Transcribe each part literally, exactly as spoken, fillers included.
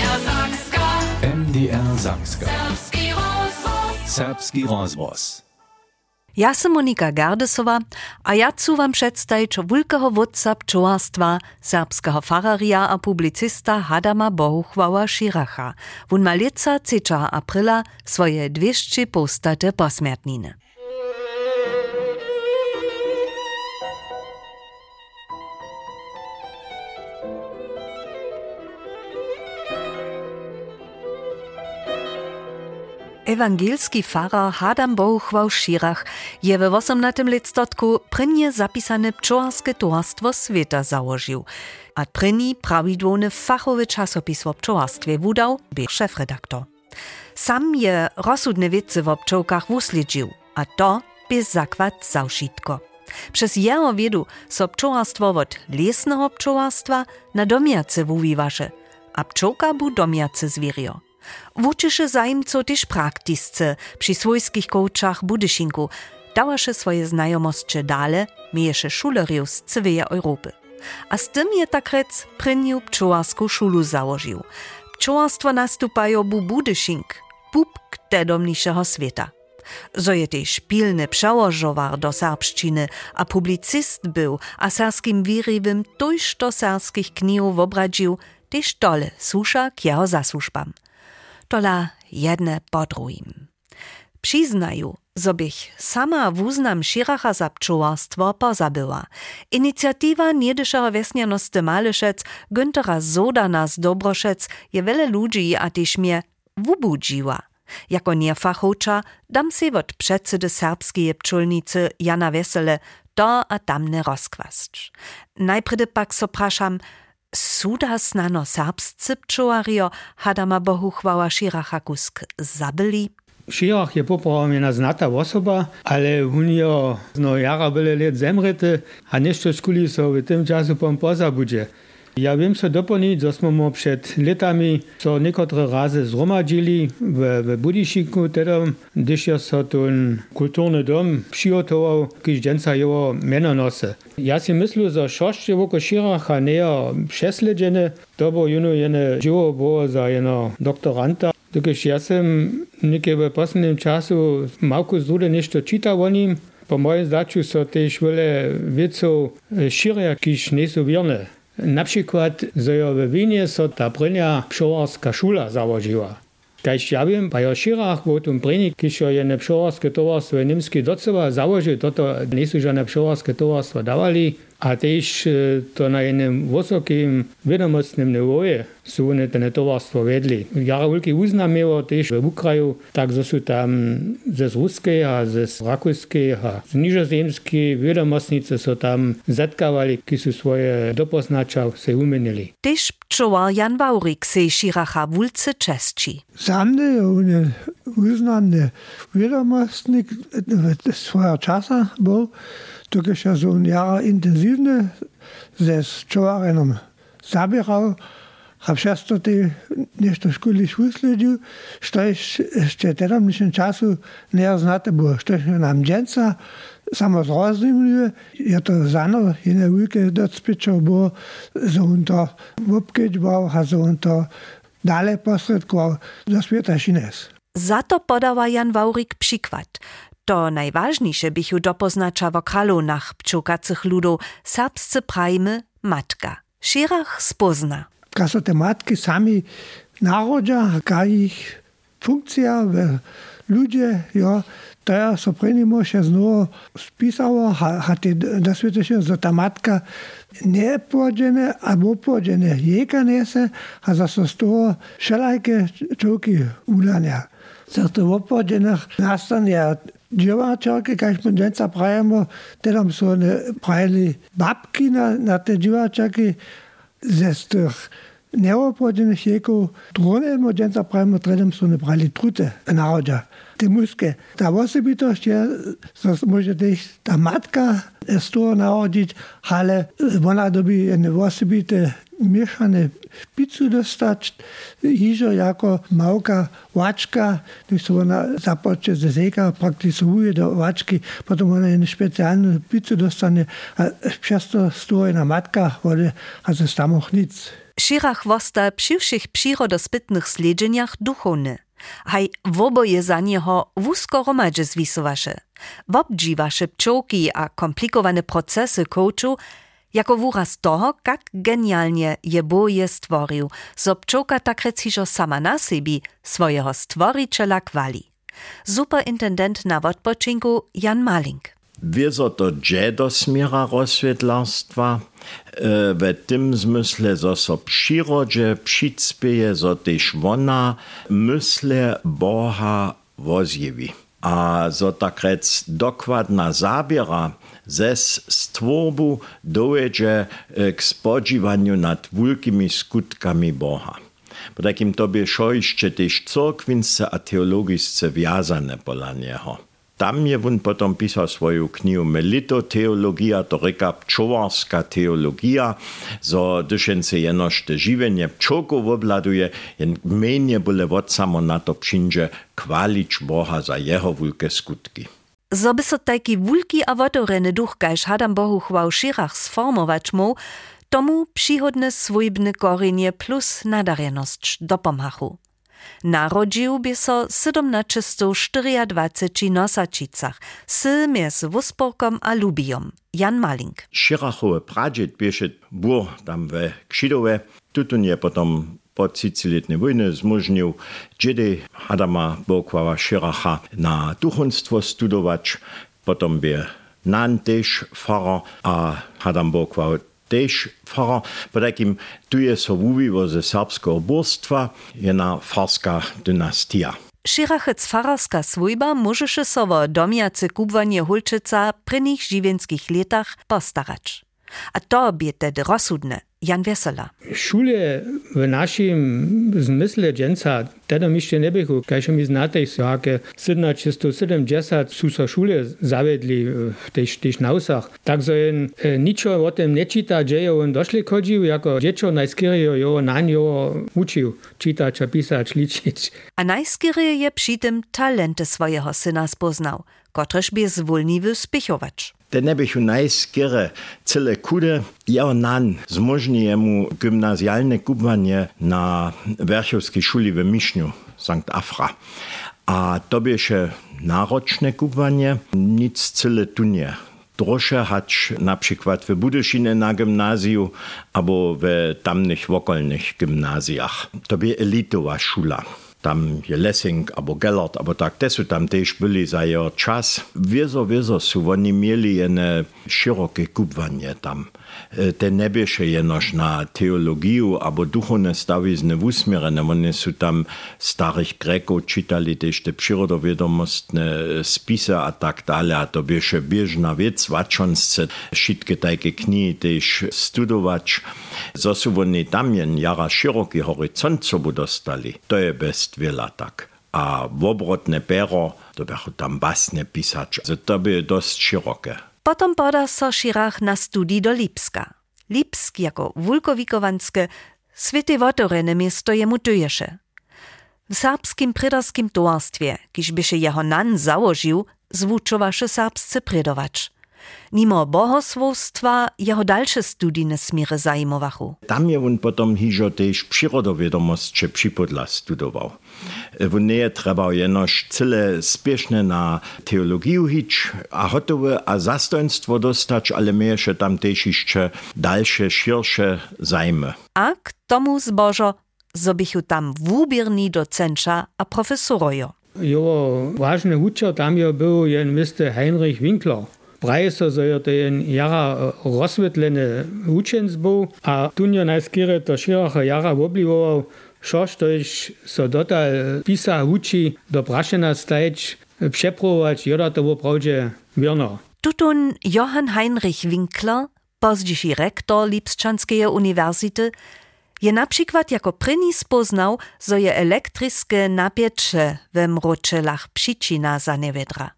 M D R Sakska. Serbski rozvoz. Serbski rozvoz. Ja sam Monika Gardesova, a ja chcę wam przedstawić wielkiego wódca pčołarstwa, serbskiego fararia a publicista Hadama Bohuchwała Schiracha. Wun ma lica trzeciego aprila swoje dwieście postate posmiertniny. Ewangelski farar Hadam Bohuchwał Schirach je we osiemnastym listotku prynje zapisane pčołarskie towarstwo świata założył, a pryni prawidłowny fachowy czasopis o pčołarstwie wudał, by szefredaktor. Sam je rozsudne wiece o pčołkach wusledził, a to bez zakład zawszitko. Przez jeho wiedu so pčołarstwo od lesnego pčołarstwa na domiace wuwiwaše, a pčołka bu domiace zwierio. Wuczysze zajmco też praktisce przy swojskich kołczach Budyszinku, dawaše swoje znajomości dale, mieješe szuleriów z całej Europy. A z tym je tak rec prynju pčołarską szulu założył. Pčołarstwo nastupają bu Budyszink, pupk tedomniejszego świata. Zo je też pilny przełożowar do serbszczyny, a publicist był, a serskim wirywym tuż do serskich knihów obradził, też dole susza k jeho zasłużbam. Tola jedne po drugim. Przyznaju, zobich sama wuznam Schiracha za pčołarstwo pozabyła. Inicjatywa niedyszeho wesnianosty Malyszec Güntera Zodana z Dobroszec je wiele ludzi a też mnie wubudziła. Jako niefachowcza dam se od przedsedy serbskiej pčolnicy Jana Wesele to a tamne rozkwasć. Najpredy pak so praszam, suda snano serbscy pčołario Hadama Bohuchwała Schiracha kusk zabyli? Schirach je poprawiona znata osoba, ale on je no jara byle let zemrety, a nešto skuli so w tym czasu pom pozabudzie. Ja wiem so doplnić, że smo przed latami so niekotre razy zromadzili w, w Budyszinku, tedy, gdyż je so ten kulturny dom przygotował, kiedy dżęca jego mianonosy. Ja si myślę, że szoście woko Schiracha nie prześledzone, to było jeno jene dzieło było za jeno doktoranta. Dokąd ja sam niekiedy w poslednim czasu małku zrude nešto czytał o nim, po moim zdaniu so też wiele wieców Schirach, kiż nie są wierne. Na przykład, że w Wienie so ta prynja pčołarska szula założyła. Kaž ja wiem, pa jo Schirach w tym prynji, kiż jene pčołarskie towarstwo niemskie doceła założył, to to nie są żadne pčołarskie towarstwo dawali, a też to na jednym wysokim wiadomostnym niwoje są one te towarstwo wedli. Jara wielki uznam miało też w Ukraju, tak że są tam ze ruskiej, a ze rakuskiej, a z niżozemskiej wiadomostnicy są tam zatkawali, ki są swoje dopoznacza se umienili. Też pčołar Jan Waurik se Schiracha wulce czesci. Samny on uznany wiadomostnik swojego czasu był, dokąd ja so jara intensywne ze pčołarenom zabierał, a przez to ty nešto škuliš usledził, što jeszcze teraz w czasu nie znate było, što nam dżęca samo zrozumie, ja to zano, jene wielkie docpyczo było, że on to obkedźbał, a że on to dalej posredkował do świata šines. Za to podała Jan Waurik przykład. To najważniejsze bychu dopoznacza w kralonach pčokacych ludów serbscy prajmy matka. Schirach spozna. Ka so te matki sami narodža, ka ich funkcija v ludzie, jo, to ja so prenimo še znovu spisalo, ha te dosvetiše, za ta matka ne pođene, a bo pođene jeka nese, a za so z toho všelajke čovki ulanja. Za to v pođenah nastane dživačarke, kaj smo dženca pravimo, tedam so ne pravili babki na, na te dživačarke, ze z tych neopłodzionych jeków drone młodzieńca prawie tredem są brali trute narodza. Te muskie. Ta osobitość jest, może też ta matka z toho narodzić, ale ona dobi jedne osobite mieszane pizzu dostać, iżo jako małka łaczka, gdyż ona zapocznie ze zeka, praktykuje do łaczki, potem ona jedną specjalną pizzę dostanie, a przez to stoi na matka, a ze stamoch nic. Schirach wosta przy všich przyrodospytnych sledźeniach duchowny. Haj woboje za niego wózko romadże zwisowaše. Wobdžiwaše pčołki a komplikowane procesy coachu, jako wyraz toho, jak genialnie je boje stworzył, so pčołka tak recižo sama na siebie swojego stworiciela kwali. Superintendent na odpoczynku Jan Malink. Wieso to dże do smiera rozsvětlarstwa, e, w tym zmysle, zo so przyrodzie přicpěje, zo tež wona mysle Boha wozjewi. A zo tak rec dokładna zabiera zes stworbu dojedzie k spodźiwaniu nad wulkimi skutkami Boha. Po takim tobie šojšće tež cyrkwinsce a teologisce wjazane pola niego. Tam je wun potom pisał swoją knihu Melitoteologia, to reka pčowarska teologia, zo dyšence jenož te živenje pčołków obladuje, jen menje byle wot samo na to přinže kwalić Boha za jeho wulke skutki. Zo by so taki wulki a wotoreny duch, kajž Hadam Bohu chwał Schirach sformować mu, tomu przychodne swójbne korzenie plus nadarjenosć dopomhachu. Narodził by so siedemnaście czterdzieści nosačicach, sy mjez Wusporkom a Lubijom. Jan Malink. Schirachowe pradziet běše bur tam we Kšidowe, tutun je potom po třicetiletnej wojny zmožnil džedy Hadama Bohukława Schiracha na duchowstwo studować, potom by nan tež fara a Hadam Bohukław tež fara, po takim tu je so wuwiło ze serbskiego burstwa, jena farska dynastia. Schirachec fararska swójba możeše so wo domjace kubwanie Hulčica prynych živenskich letach postarać. A to bie tedy rozsudne. Jan Wesola. Šule v našim zmysle dženca, teda mi ešte nebychu, kajže mi znate, jaké sedemnásť sedemdesiat sú so šule zavedli v tých nausach. Takže jen e, ničo o tom nečíta, že jo on došli chodil, jako dečo najskýrio jo na njo učil čítať a písať, ličiť. A najskýrie je přitom talenty svojego syna spoznał, kotrež by zwolniwy spychować. Te nebychu najskýre celé kude, jeho nan zmožní jemu gymnazialne kubwanie na Werchowskiej szuli w Mišňu, Sankt Afra. A to běše náročne kubwanie, nic celé tunie. Trosze hać na przykład w Budyšine na gymnazju, albo w tamnych wokolnych gymnazjach. To bie elitowa szula. Tam je Lessing, abo Gellert, abo tak, te su tam tež byli za jeho čas. Wiezo, wiezo su oni mieli jene široke kubwanie tam. Te nebieše jenož na teologiju, abo duchovne stavizne usmierene. Oni su tam starých Grekov čitali tež te przyrodovědomostne spise a tak dále. A to bieše biežna vec, vačonsce šitke tajke knihy tež studovač. Zo su oni tam jen jara široký horizont sobu dostali. To je best wiele tak. A wobrotne pero, to bychu tam basne pisać. To by dość široke. Potom poda so Schirach na studii do Lipska. Lipsk jako wulkowikowanskie święte wotorene miasto jemu tuješe. W serbskim prydarskim towarstwie, kiż by się jeho nan założył, zwuczowaše serbscy prydowacz. Mimo bohosłowstwa jeho dalsze studijne smiry zajmowachu. Tam je on potom hižo tež przyrodovědomostče připodla studował. On nie je trebał jenož cyle spiešne na teologiju hič a hotowe a zastojnstwo dostać, ale mieješe tam tež jeszcze dalsze, širše zajmy. A k tomu zbožo, zobychu tam wubierni docenča a profesorojo. Jo, ważny uczeń tam je był jen mister Heinrich Winkler. Praje so, so je to jen jara rozsvetlene učenc był, a tunjo najskýre to Schiracha jara oblivoval, šož to iš so dotal pisa uči do prašena stajeć, přeprovować, joda to woprawdźe wierno. Tutun Johann Heinrich Winkler, pozdější rektor Lipšćanskej uniwersity, je na przykład jako pryni spoznał, zo je elektryskie napiecze we mročelach przyczyna za nevedra.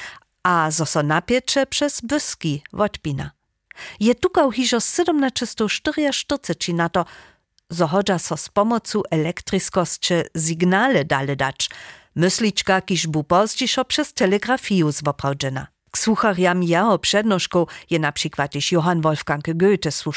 A zo so napiecze przez wyski odpina. Je tukał hižo siedemnaście czterdzieści na to, zo hodža so z pomocą elektryskości signale dale dać, mysliczka kiż bu pozdzišo przez telegrafiju zwoprawdzena. K słuchariam jeho przednoszką je na przykład iż Johann Wolfgang Goethe słuchał.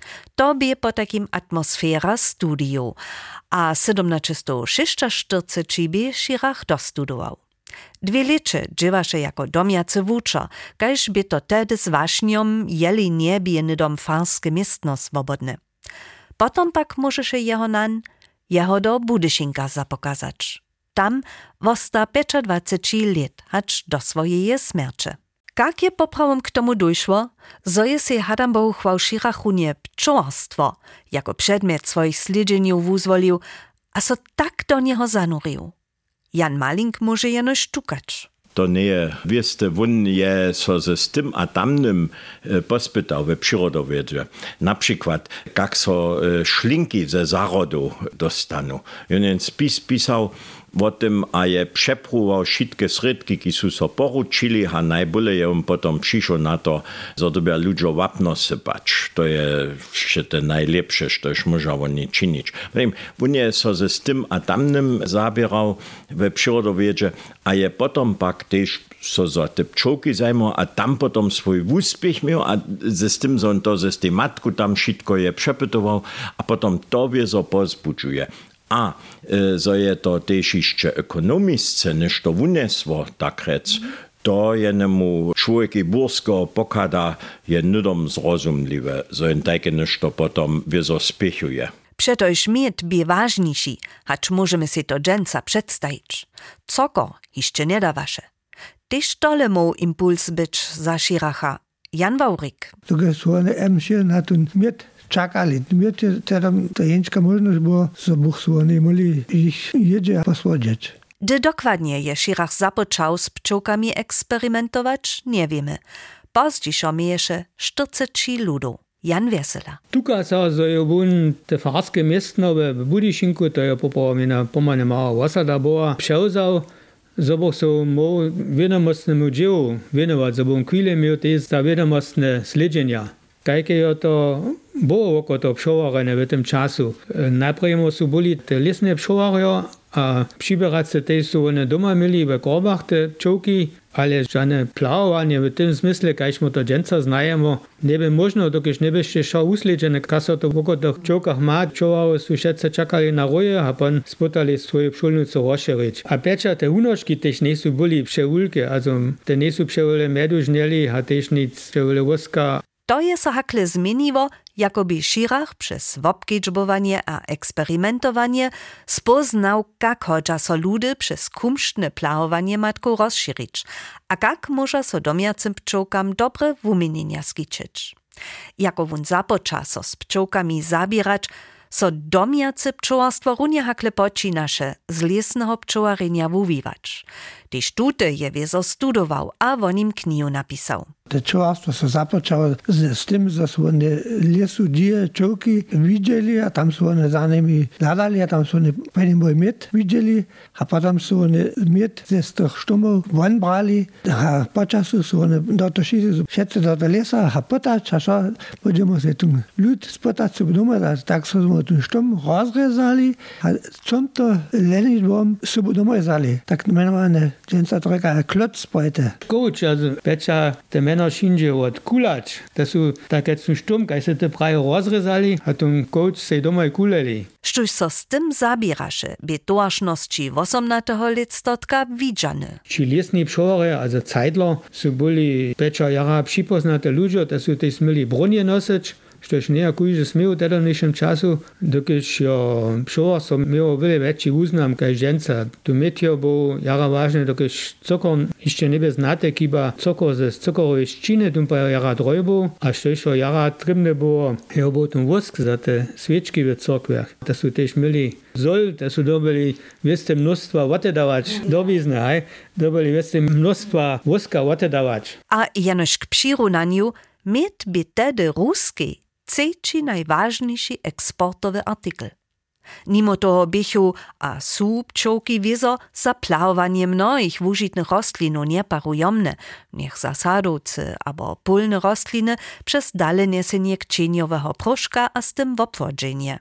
To bie po takim atmosfera studiu, a siedemnaście šesťstoštyridsaťštyri bie Schirach dostudował. Dwie leče dżywaše jako domjacy wuczer, kaž by to tedy z wašniom jeli niebie dom farskie miestno swobodne. Potom pak możeše jeho nan, jeho do Budyšinka zapokazać. Tam wosta dwadzieścia pięć lat, hacz do swojej smierci. Jak je poprawom k tomu dojszło, zo je se Hadambow chwał Schirachunie pčołarstwo jako przedmiot swoich sledźeniów wuzwolił, a so tak do niego zanurił. Jan Malink może jeno sztukać. To nie wieste, won je so ze z tym a tamnym pospytał we przyrodowiedzie. Na przykład, jak so szlinki ze zarodu dostanu. Jeden spis pisał o tym, a je przepruwał wszystkie sredki, ki su so poručili, a najbole je on potom przyszło na to, że dobia ludzie wapno sypać. To je jeszcze te najlepsze, co już można oni czynić. On je so ze z tym a tamnym zabierał we przyrodowiedzie, a je potom pak też so za te pčołki zajmował, a tam potom swój úspěch miał, a ze z tym, że on to ze z tej matku tam wszystko je przepytował, a potom to wie, so pozbudzuje. A zo je to też jeszcze ekonomisce, niż to wunesło, tak rec, to jenemu człowieki burskiego pokada je nudom zrozumliwe, zo jen takie niż to potom wieso spiechuje. Przetoż miet bie ważniejszy, hacz możemy si to dżęca przedstawić. Coko jeszcze nie da wasze. Tyż tole mógł impuls być za Schiracha. Jan Wawrik. To jest one emsie na ten miet czekali. Miet tam ta jęczka możność było, so Bóg słony mogli ich jedzie posłodzieć. Gdy dokładnie je Schirach zapoczął z pčołkami eksperymentować, nie wiemy. Pozdziej miejesze czterdzieści ludów. Jan Wesela. Tuka sa, zo je wun te farskie miestno w Budyšinku, to je poprawnie pomane mała osada była, przełzał, zo bo so mo wiadomostnemu dziełu wienować, zo bo chwilę miał też za wiadomostne śledzenia. Jakie je to było oko to pšowarene w tym czasu. Najpierw su byli te lesne pšowarje, a przybierać też su one doma mieli w korbach te pčołki, ale żadne plawowanie w tym smysle, kaž my to dżęca znajemy, nie by można, dokiż nie byście szał usledzene, kaso to woko tych pčołkach ma, pčowarje su wszyscy czekali na roje, a pan spotali swoje pšolnice rozszerzyć. A pecza te unożki też nie su byli pšeulki, also te nie su pšeule medu żnieli, a też nic pšeule woska. To je so hakle zmieniło, jakoby Schirach przez wobkedźbowanie a eksperymentowanie spoznał, jak chodza so ludy przez kumsztne plawowanie matku rozszerzyć, a jak może so domiacym pčołkam dobre wumienienia skiczyć. Jako wun započa so z pčołkami zabierać, so domiace pčołarstwo runie hakle počinaše z lesnego pčołarenia wuwiwać. Tyż tute je wiezo studował, a o nim knihu napisał. To pčołarstwo so započało z, z tym, że są one lesu dzieje czołki widzieli, a tam są one za nimi ladali, a tam są one pewnie mój miet widzieli, a potem są one miet ze z tych sztumów won brali, a po czasu są one dotoczyli wszyscy do tego lesa, a potać, a co będziemy się ten lud spotać sobie doma, tak są ten sztum rozrezali, a co to lenidłom sobie doma rezali, tak mianowane dżęca trochę kloc pojete. Coach, also pecza te meno šinže od kulać. To su takie su štum, kaj se te praje rozrezali, a ten coach se doma kuleli. Štuž so z tym zabieraše, by toašnosti osiemnastego letstotka widziane. Či lesni pšowarje, also Zeitler, su byli pecza jara připoznate ludzie, to su też mieli bronie nosić, štož nie kujže smiał teda nižšem času, dokiž jo pšowarstvo miało wiele väčší úznam kaj ženca. Tu metio był jara vážne, dokiž cokor ešte nebe znate, kiba cokor ze cokorovej ščine, tum pa jara drojbu, a štož jo jara tribne było, jo był tum wosk za te sviečky v cirkvях. To su tež mieli zol, to su dobili vieste množstva otedavač, dobizne, hej, dobili vieste množstva woska otedavač. A jenož k přirunaniu, met by tedy ruski trzeci najważniejszy eksportowy artykel. Mimo toho bychu a su pčołki wiezo za plawowanie mnohich wužitnych rostlinów nieparujomne, niech za sadowcy albo polne rostliny przez dale niesienie kcieniowego proszka a z tym wobwodzenie.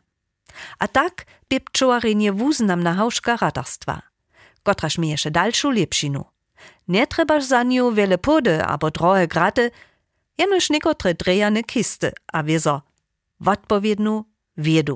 A tak by pčowarenie wuznamna hauszka radarstwa, kotraż mi jeszcze dalszą lepszinu. Nie trebaż za nią wiele pody albo drohe graty, jenoż niekotre drejane kisty, a wiezo odpowiednu wiedu.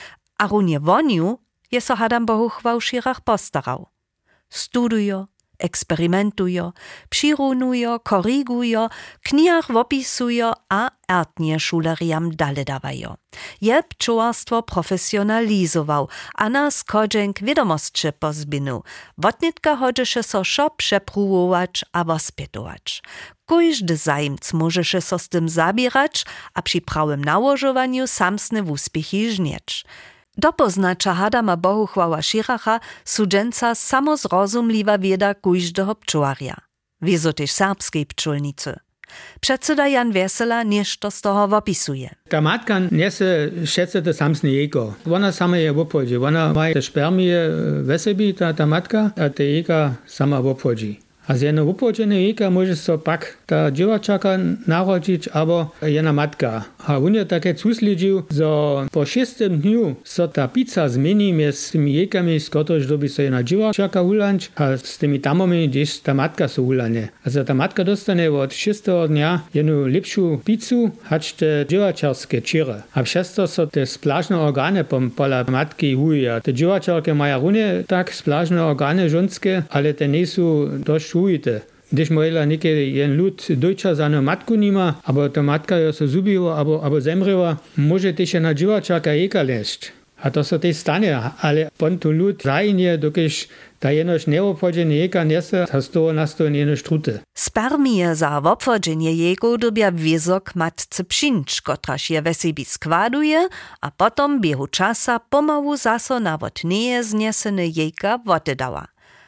A runie woniu je so Adam Bohuch w Širach postarał. Studujo, eksperymentujo, přirunujo, korigujo, knihach opisujo a ertnie šuleriam dale dawajo. Je pčowarstwo profesjonalizował, a nas kodźenk wiadomostcze pozbinu. Wotnitka hodźeše so szo przepruwować a wospytować. Kójżdy zajmc możeše so z tym zabierać, a przy prawym nałożowaniu samsne wuspichy żnieć. Dopoznacza Adama Bohuchwała Širacha sudženca samozrozumliwa wieda kójżdego pčowarja. Wiezo też serbskiej pčolnicy. Przedsyda Jan Wesela nieszto z toho opisuje. Ta matka niese šece te samsne jejko. Ona sama je obchodzi. Ona ma te spermije ve sebi, ta, ta matka, a te jejka sama obchodzi. A z jednej obchodzene jejka może so pak ta dziewczaka narodzić, albo jedna matka. A on je takie cuslidžił, że po szóstym dniu so ta pizza zmieni między tymi jejkami, z których doby so jedna dziewczaka ulanć, a z tymi tamami, gdzieś ta matka so ulanie. A za ta matka dostanie od szóstego dnia jedną lepszą pizzę, hać te dziewczarskie ciry. A przez to so te splażne organy pola matki uje. Te dziewczarki mają runie tak splażne organy żonskie, ale te nie są dość ujte. Když mojela niekedy jen lud dojča za no matku nima, abo ta matka jo so zubiła, abo, abo zemreła, może też na dziewczaka jeka leść. A to so też stanie, ale pon tu lud zajnie, dokiż ta jenoś neobchodzenie jeka niese, a z toho nastoje jenoś trute. Spermije za obchodzenie jego dobia wizok matce pšinč, kotraž je ve sebi składuje, a potom biehu časa pomału zaso na wotneje zniesene jejka wotedała.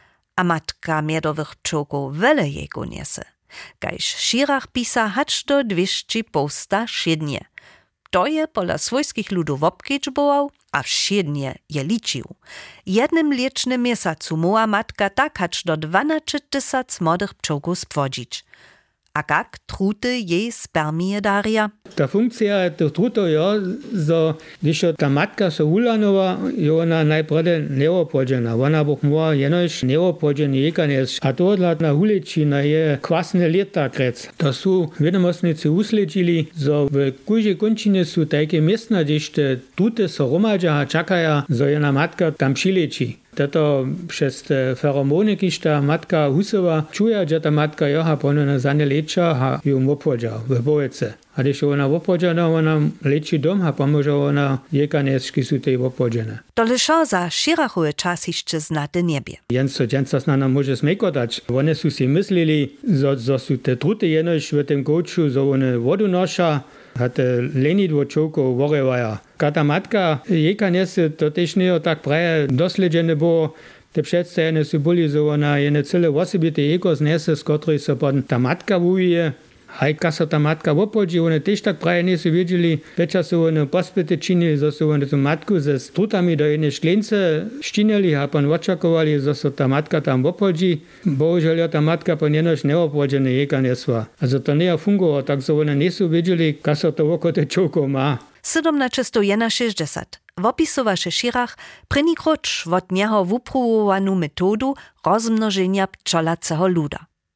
A matka miedowych pčołków wele jego niese. Kajż Širach pisa hacz do dwieście posta siednie. To je pola swojskich ludów obkiczbował, a wsiednie je liczył. Jednym licznym miesiącu muła matka tak hacz do dwanaście tysac młodych pčołków spłodzić. A jak trute jej spermije daria? Ta funkcja to truto je, że když ta matka so ulanowa, je ona najprede neopłodzena. Ona buch mogła jenoś neopłodzenie jeka nieć. A to na ulici na je kwasne leta krec. To są wiadomostnicy usledźili, że w każdej kończynie są takie miejsca, gdzieś te trute so romadza, a czekają, że jedna matka tam przyleci. Toto przez te feromony, kiż ta matka husowa czuje, że ta matka joha ponownie za nie lecza, a ją opłodzia w bołece. A když ona opłodzia, no ona leczy dom, a pomoże ona jekaneski są tej opłodzene. To liszo za Širachowe czas jeszcze znate niebie. Jens, jens nas na może smekotać. One są si myśleli, że, że są te truty jenoś w tym kołczu, że one wodu nosza, a te lenidło czołko worewaja. Kata matka jeka niese, to też nie tak prawie dosledzene było. Te przedstawione są byli, że ona jene cele osobite jeko znese, z której so potem ta matka wuje. Hajka so ta matka opodzi, one też tak prawie nie są wiedzieli, večer so one pospyty činili, że so one tu matku ze strutami do jednej szklence štinili, a pan očakovali, że so ta matka tam opodzi. Bohužel ta matka po njenož neopodzene jeka nesła. Also to nie fungowało, tak so one nie są wiedzieli, ka so to oko te čołko ma. sedemnaście šestdesiat. Wopisowaše Širach první kroč od něho wuprowowanu metodu rozmnożenia pčolacego luda.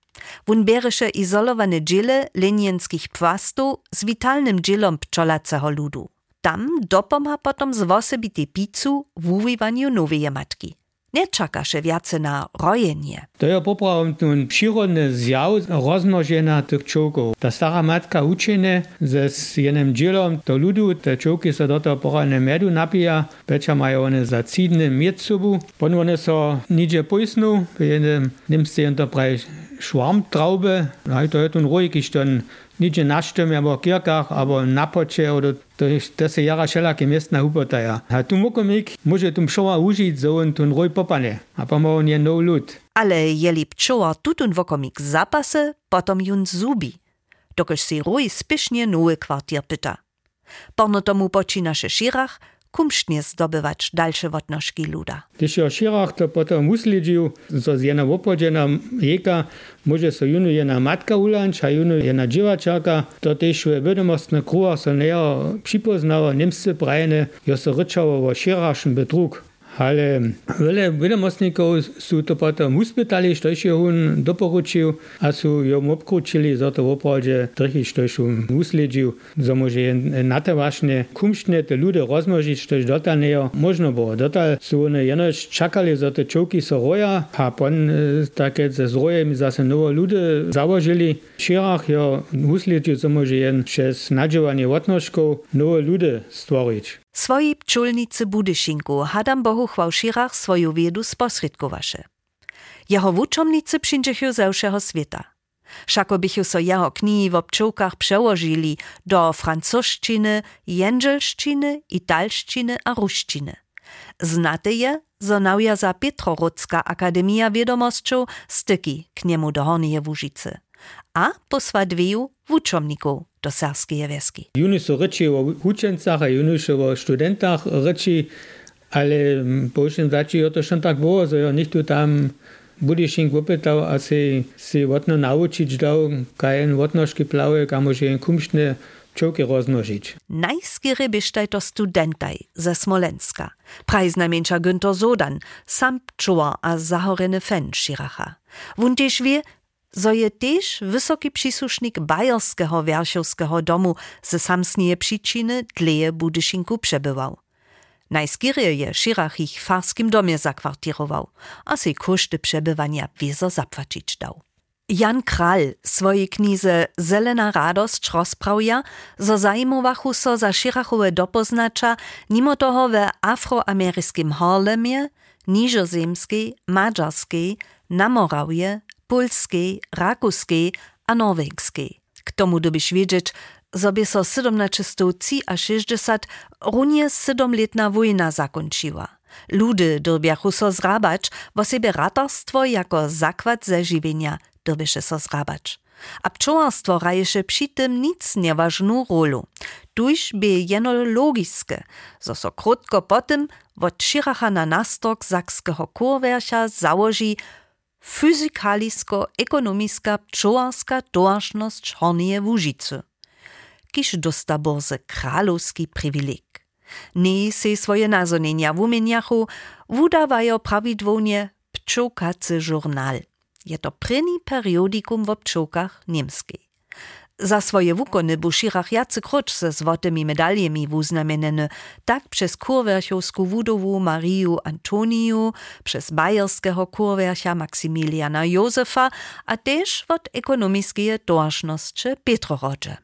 Wun biereše izolowane dźěle lenienskich płastów z witalnym dźělom pčolacego ludu. Tam dopomha potom z wosebitej pizzu w uwiwaniu nowej matki. Nie czakaše wiace na rojenie. To je poprawom ten przyrodny zjaw rozmnożenia tych czołków. Ta stara matka uczenie ze z jednym dzielom do ludu, te czołki so do tego porane medu napija, becza mają one za cidny mied sobu, potem one so nidzie pojsnu, w jednym niemsce to prawie Schwarmtraube, no to je ten rojek, iż ten nidzie na sztymie, albo kirkach, albo na pocie, oder to, to se jara wszelakie miestna hupotaja. A tu mokomik może tu pšoła użyć, że on ten roj popane, a pomału nie no lud. Ale jeli pčoła tutun wokomik zapasy, potom jun zubi, dokoż si roj spiesznie nowy kwartier pyta. Porno tomu počínaše Širach kumštnie zdobywać dalsze wodnożki luda. Když je Širach to potom usledžił, że z jedna opodzena jeka może so junu jedna matka ulanč, a junu jedna dziewczaka, to też w wiadomostnych kruhach so näher przypoznało niemscy brajne, jo so ryczało o Širachšem betrug. Ale wiele wiadomostników sú to potom uspytali, što je on doporučil, a sú jom obkrúčili, za to opravde trichy, što je on usledžil, za môže na to vážne kumštne te ľudia rozmnožiť, što je dotal nejo možno bolo. Dotal sú oni jenož čakali, za to čovky sa roja, a pon také ze zrojem zase novo ľudia založili. V Širach jo usledžil, za môže jen přes nadžovanie odnožkov novo ľudia stvoriť. Swojej pčulnicy Budyszinku Adam Bohuchwał w Širach swoją wiedu sposredkowaše. Jeho wuczomnicy przyjdziecie ze wszego świata. Wszako bychu so jeho knihi w pčołkach przełożyli do francuszczyny, jędzelszczyny, italszczyny a ruszczyny. Znate je, zo naujazza Petrorodska Akademia Wiedomosćów styki k niemu do Hornieje Łužice. A posła dwieju wuczomników do serbskeje wieski. Juni so reči o učencach a juni so o studentach reči, ale po všem zači je to schon tak było, so jo nikto tam Budyszink opytał, a si, si odno naučić dał, kaj en odnožky plawe, ka može en kumštne pčołki rozmnožić. Najskiery byštaj to studentaj ze Smolenska. Prajznajmniejsza Günther Sodan, sam pčołar a zahoreny fen Širacha. Wun tež wie, zo je tež wysoki przysłusznik Bajerskiego Wierszowskiego domu ze samsnieje przyczyny dleje Budyszinku przebywał. Najskiery je Širach ich w farskim domie zakwartirował, a sej koszty przebywania wiezo zapłacić dał. Jan Kral swojej knize Zelena radość rozprawia, zo zajmowachu so za Širachowe dopoznacza, mimo toho we afroameryskim Harlemie, niżozemskiej, mađarskiej, na Morawie, polskiej, rakuskiej a norwegskiej. K tomu dobyš wiedzieć, zobie so siedemnaście sześćdziesiąt runie siedemletna wojna zakończyła. Ludy dorbiachu so zrabać, wo sebe ratarstwo jako zakład zażywienia dorbisze so zrabać. A pčołarstwo raješe przy tym nic nieważną rolu. Tuż by jeno logiske, zo so krótko potem od Širacha na nastok sakskiego kurwersia założy fyzikalisko-ekonomiska pčołarska tożność Hornieje Łužice. Kiż dosta borze kralowski privileg. Nie se swoje nazonienia w umieniachu wudawają prawidłownie pčołkacy żurnal. Je to prynny periodikum w pčołkach niemskiej. Za swoje wukony bu Širach jacy kroč se złotymi medaljemi wuznamieneny, tak przez kurwersiowską wudowu Mariu Antoniju, przez bajerskiego kurwersia Maksymiliana Józefa, a też od ekonomiskie tożności Petrorodże.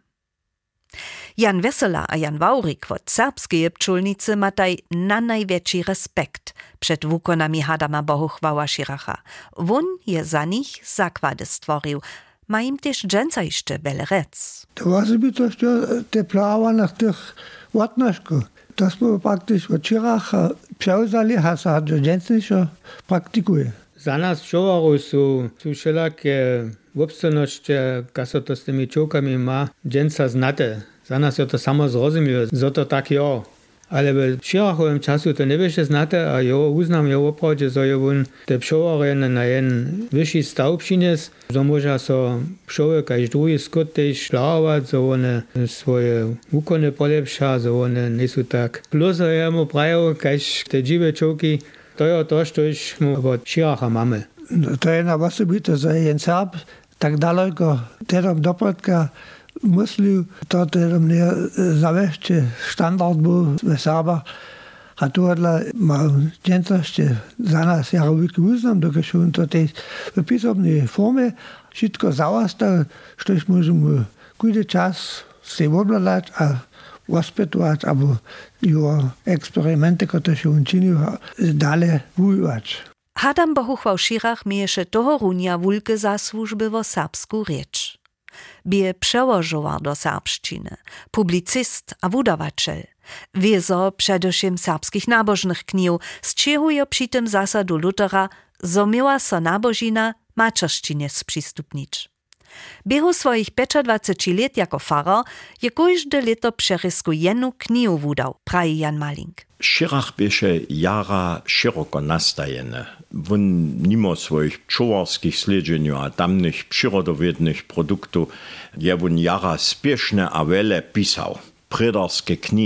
Jan Wesela a Jan Waurik od serbskeje pčulnicy mataj na największy respekt przed wukonami Adama Bohuchwała Širacha. Won je za nich zakłady stworzył, ma im też dżęca jeszcze wiele rec. To właśnie by to te plawa na tych łatnożku. Tośmy praktycznie od Širacha przełzali, a sa dżęcniejszo praktykuje. Za nas pčołarów są, są wszelakie obstojności, kaso to z tymi czołkami ma dżęca znate. Za nas je to samo zrozumiałe, za to tak jo. Ale w Širachowym czasu to nie będzie znate, a jo uznam jo oprawdzie, że jo on te pčołary na jeden wyższy staw przyniósł, że może so pčoły kaž drugi skut też szlarować, że one swoje wukony polepsza, że one nie są tak pluso jemu prają, kaž te dziwe czołki. To je to, co już od Širacha mamy. No, to je na osobito, że jen Serb tak daleko tedom dopredka myślił, to tedom nie zawieźcie standard był w Serbach. A tu odla ma dżęcości za nas jarowyki uznam, dokud on to też w pisemnej formie wszystko załastał, coś możemy każdy czas się obladać, a ospytować, albo jego eksperymenty, które się on czynił, dalej wujować. Adam Bohuchwał Širach mieješe toho runia wulke zasłużby wo serbsku rzecz. Bie przełożował do serbszczyny, publicyst a wudawaczel. Wiezo przedewším serbskich nabożnych knił, z czego przy tym zasadu Lutera, zo miała so nabożina mačerščine sprzystupnić. Biehu swoich dwadzieścia pięć lat jako farar je każde leto przerysku jedną knihu wudał, praji Jan Malink. Širach běše jara široko nastajene. Won mimo swoich pčołarskich sledženju a tamnych przyrodowiednych produktów je won jara spieszne a wiele pisał. Predarskie kni,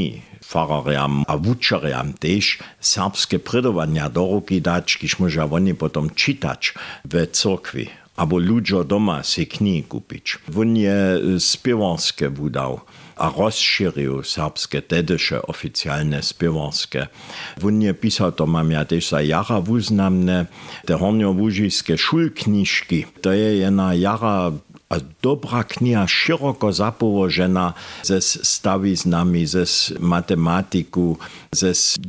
fararjam a wučarjam tež serbske predovanja do ruky dać, kiž môža oni potom čítać v cirkvi. Abo ľuďo doma si knihy kúpiť. On je spievanské vúdal a rozšíril serbské, tedeše oficiálne spievanské. On je písal, to mám ja tež za jara vúznamné, te horňovúžijské šulknižky. To je jedna jara a dobrá kniha, široko zapołożena ze stawiznami, ze matematiku, ze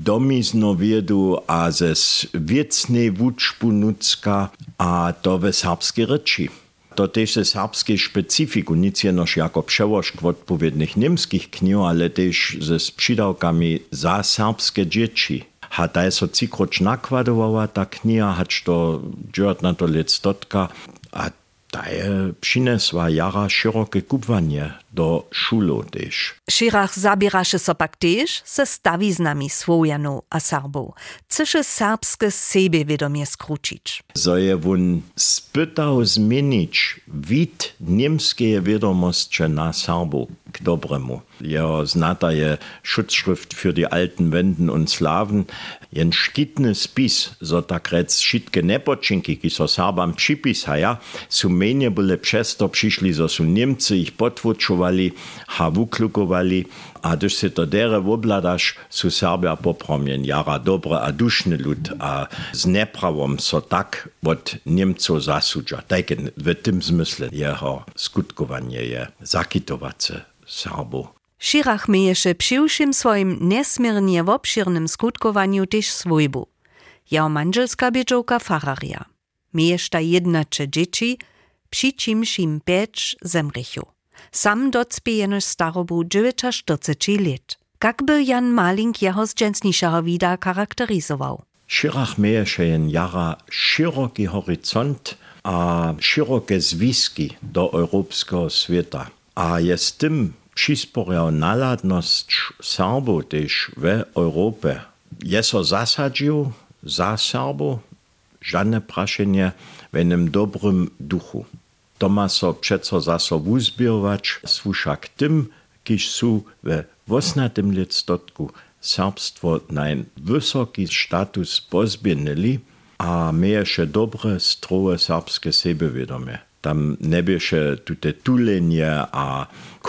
domiznoviedu a ze wiecnej wuczbu nudzka, a to we serbskiej reči. To też ze serbskiej specyfiku, nic jenoż jako przełożk odpowiednich niemskich knih, ale też ze przydałkami za serbskie dzieci. A ta jest so cikroč nakładowała ta kniha, hać to dziewat na to let stotka, a ta je přinesła jara široke kubwanie do šulo tež. Širach zabieraše so pak tež se stawiznami Słowianów a Serbów. Chce serbske sebevědomie skručić. So je won spytał zmienić wid niemskie wiadomości na Serbów k dobremu. Jeho znata je Schutzschrift für die alten Wenden und Slawen. Jen škitny spis, so tak rec šitke nepočinki, ki so Serbam připisaja, su menje byle přesto přišli, so su Niemcy ich potvučovali, ha vuklukovali, a když se to dere wobladaš, su Serbia popromjen jara dobre a dušny lud, a z nepravom so tak od Niemcov zasudža. Tajke v tym zmysle jeho skutkovanie je zakitovace Serbov. Širach mieješe przy všim swoim nesmiernie obširnym skutkowaniu też swojbu. Jeho manželska bědžovka fararia. Mieješta jednače dzieci, przy čimž im pěč zemrychu. Sam docpie jenož starobu dziewięćdziesiąt let. Kakby Jan Malink jeho z dżęsnišeho vida charakterizował. Širach mieješe jen jara široki horizont a široke zwiski do europejskiego świata. A jest tym přisporjał naladnosť Serbov tež v Európe. Je so zasadžił za Serbov, žadne prašenie v jednom dobrom duchu. To má so přeco zaso uzbierovač sluša k tym, kiž sú v osmnástom listotku serbstvo na vysoký status pozbienili a mieješe dobre, strohe serbske sebevědomie. Tam nebieše tute tulenie a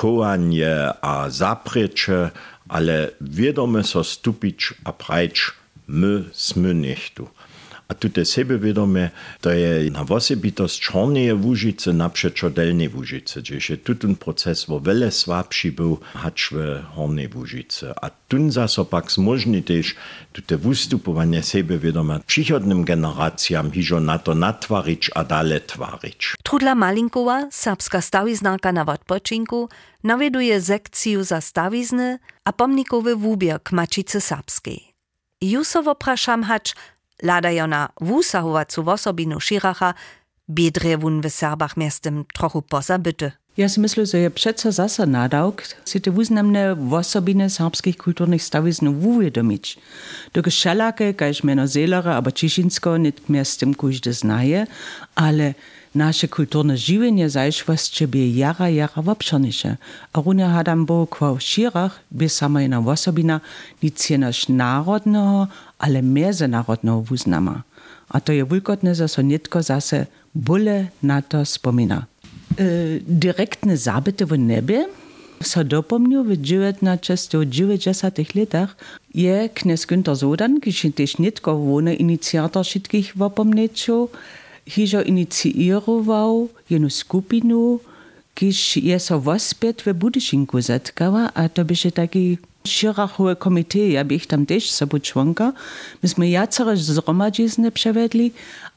koanie a zapreče, ale wiedome so stupić a prajč my sme nechtu. A tute sebevědomie, to je na osobitost Čorneje Łužice napřečo Delnej Łužice, že tutun proces vo vele slabší byl hač v Hornej Łužice. A tun zaso pak zmožni tež tute vystupovanie sebevědomia přichodným generáciám hižo na to natvarič a dale tvarič. Trudla Malinkova, serbska stawiznarka na odpočinku, nawieduje sekciju za stawizny a pomnikowy wubier k mačice serbskiej. Jusowo praszam hacz, ladajo na wusahovacu wosobinu Širacha, biedre wun w Serbach miastem trochu pozabyty. Ja si myslím, že je přece zase nadawk si te wuznamne wosobiny serbskich kulturnych stawiznów uvědomić. Dokud šalake, kaž meno Zelere, aber Čišinsko nit miastem kujde znaje, ale naše kulturne živenje zajšvostče by jara jara wobšerniše. A runia hadam bo kva Širach by sama jedna wosobina nic jenož národného, ale mezinárodného wuznama. A to je wulkotne, že so nitko zase bole na to spomina. E, direktne zabyty v nebie so dopomniu w dziewięćdziesiątych letach je knes Günther Sodan, kiž tež nitko wone iniciator všetkých wopomnečov, hižo iniciirował jednu skupinu, kiž je so wospět v Budyšinku zetkała, a to byše taki Širachowe komité, ja bych tam też sobą członka. Myśmy jacere zromadzizny przewiedli,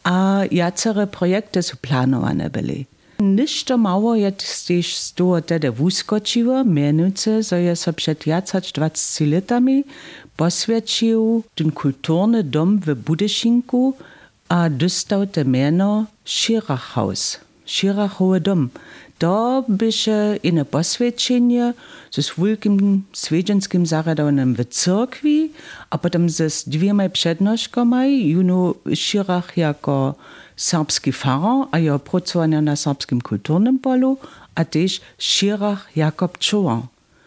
a jacere projekty są planowane byli. Ništo mało jest też z toho tedy wuskočiło, mianowicie, że je so przed dwadzieścia latami posvědčil ten kulturny dom w Budyšinku a dostał te miano Širachhaus, Širachowy dom. To byše ine posvědčenie ze wielkim swiedzienskim zaradowanym w cyrkwi, a potem ze dwiema przednoszkami, juno Širach jako serbski farar, a jeho pracowania na serbskim kulturnym polu, a też Širach jako pčovar.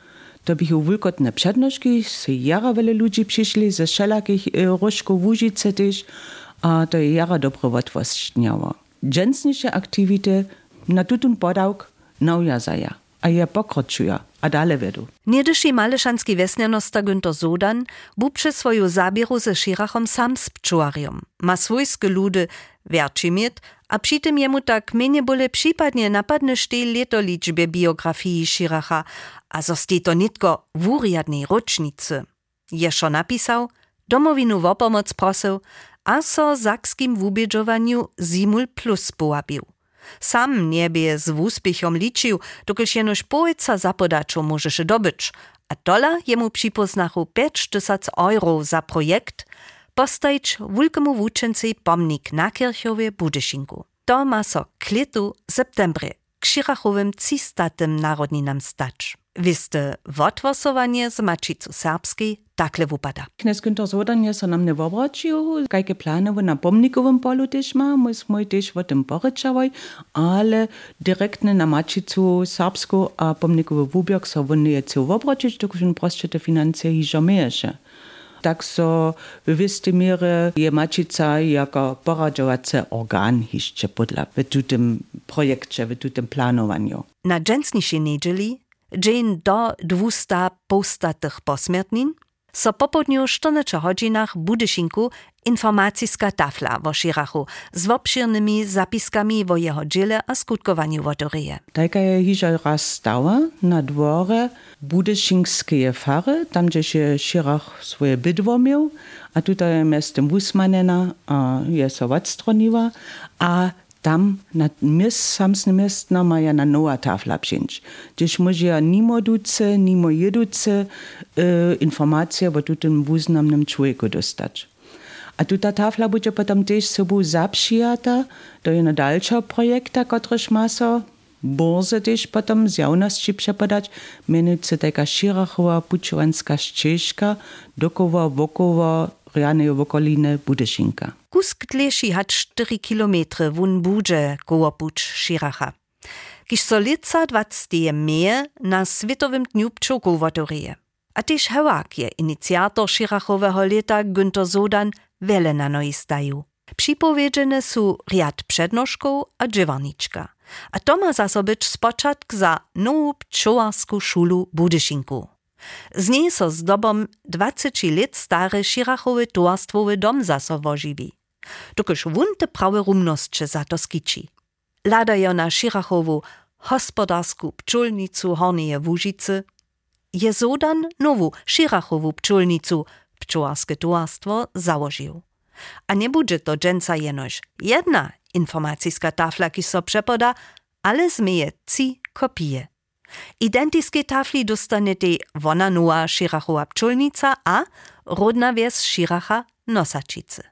To bychu wulkotne přednošky, se jara vele ludzi přišli ze všelakých rožkov Łužice też, a to je jara dobrovotvostňawa. Dżensniše aktivity na tutun podawk naujazaja, a je pokročuja, a dale vedu. Niedyši malešanski vesnjanosta Günther Sodan bu przy swoju zabieru ze Schirachom sam z pčuariom. Ma swojskie ludy wierci miet, a przy tym jemu tak mnie bole przypadnie napadne sztej leto liczbie biografii Schiracha, a zosti to nitko w uriadnej rocznicy. Jeszo napisał, domowinu w opomoc prosił, a so zakskim wubiedżowaniu Zimul Plus połapił. Sam niebie z úspěchom ličił, dokelž jenož pojeca zapodačo możeše dobyć, a dola jemu připoznachu pięć tysięcy euro za projekt postajić wulkemu wučenci pomnik na Kirchowie Budyšinku. To ma so k letu septembre k Schirachowym trzystatym narodninam stać. Wiste wotwosowanie z mačicu serbskiej takle wupada. Knes Günther Sodan je so nam ne wobračił, kajke planowe na pomnikowym polu też ma, myśmy też o tym poryczałaj, ale direktne na mačicu serbsku a pomnikowy wubiok so won nie chcą wobračić, dokąd on proste te finanse hižo mieješe. Tak so w wistej mierze je mačica jako poradžovace organ hišće podla w tym projekcie, w tym planowaniu. Na dżensnišej niedzieli dzień do dwusta postatych posmiertnin, so popodniu czternastu hodzinach Budyšinku informacyjska tafla wo Schirachu z obširnymi zapiskami wo jeho dziele a skutkowaniu wodoreje. Taka je hižo raz stała na dworze Budyšinskie fary, tam gdzie się Schirach swoje bydło miał, a tutaj miastem Wusmanena a je so odstroniła, a tam na mies, samsne miestna maja na nowa tafla przyjść. Gdzieś może nimo duce, nimo jeduce e, informacje o tym wuznamnym człowieku dostać. A tu ta tafla będzie potem też sobą zaprzyjata do jednego dalszego projekta, któryż ma so borze też potem z jawności przepodać, mianowicie taka Schirachowa pučovanska ścieżka dokoła wokoła Rianej okoliny Budyšinka. Kusk tlieši hat cztery kilometry wun budże koło puč Schiracha. Kiž so lica dwadzieje meje na Światowym dniu pčołków wodoreje. A też Hewak je inicjator Schirachowego leta Günther Sodan wiele na noi staju. Připowiedziene su riad przednoszków a dżewarniczka. A to ma zasobyć spoczatk za nową pčołarską szulu Budyšinku. Z niej so z dobom dwadzieścia lat stare Schirachowy towarstwowy dom zaso wožiwi. Dokelž wun te prawe rumnosće za to skiči. Ladajo na Schirachowu hospodarsku pčolnicu Hornije Łužice, je Sodan nowu Schirachowu pčolnicu pčołarskie towarstwo założył. A nie będzie to dżęca jenož jedna informacyjska tafla, ki so przepoda, ale zmieje trzy kopie. Identické tafli dostane tej wona nowa Schirachowa pčolnica a rodna wieś Schiracha Nosačice.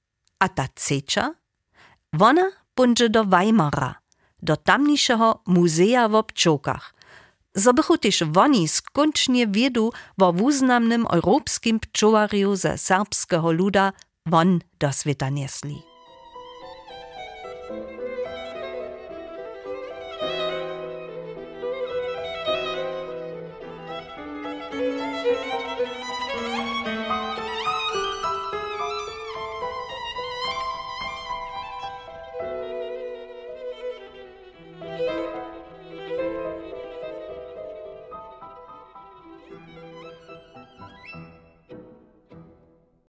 A ta trzecza? Wona będzie do Weimara, do tamniejszego muzea w pčołkach. Zobychu też woni skończnie wiedu o wuznamnym europskim pčołariu ze serbskiego luda won do świata niesli.